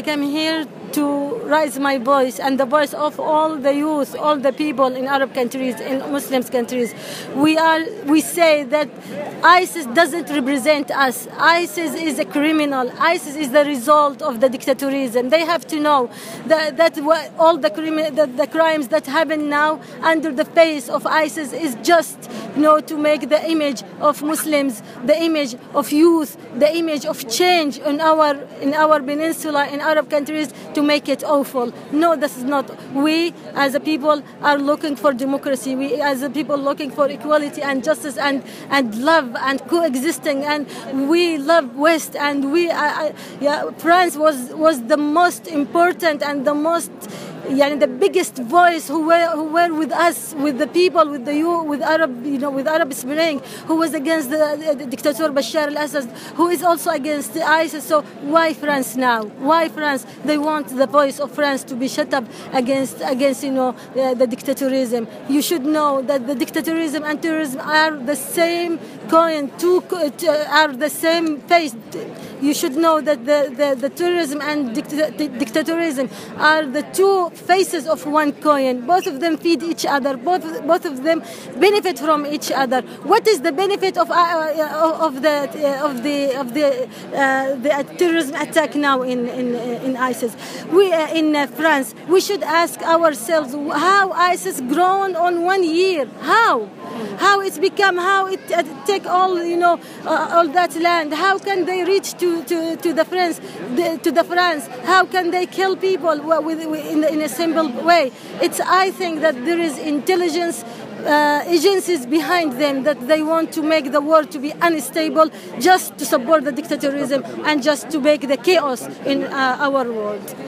came here to raise my voice and the voice of all the youth, all the people in Arab countries, in Muslim countries. We say that ISIS doesn't represent us. ISIS is a criminal. ISIS is the result of the dictatorism. They have to know that all the crimes that happen now under the face of ISIS is just, to make the image of Muslims, the image of youth, the image of change in our peninsula, in Arab countries, to make it awful. No, this is not. We as a people are looking for democracy. We as a people looking for equality and justice and love and coexisting. And we love West. And France was the most important and the most, the biggest voice who were with us, with the people, with the youth, with Arab Spring, who was against the dictator Bashar al-Assad, who is also against the ISIS. So why France now? Why France? They want the voice of France to be shut up against the dictatorism. You should know that the dictatorism and terrorism are the same coin, are the same face. You should know that the terrorism and dictatorism are the two faces of one coin. Both of them feed each other. Both of them benefit from each other. What is the benefit of the terrorism attack now in ISIS? We in France. We should ask ourselves how ISIS grown on 1 year. How it's become, how it take all that land. How can they reach to the France? How can they kill people in a simple way? I think that there is intelligence agencies behind them, that they want to make the world to be unstable, just to support the dictatorism and just to make the chaos in our world.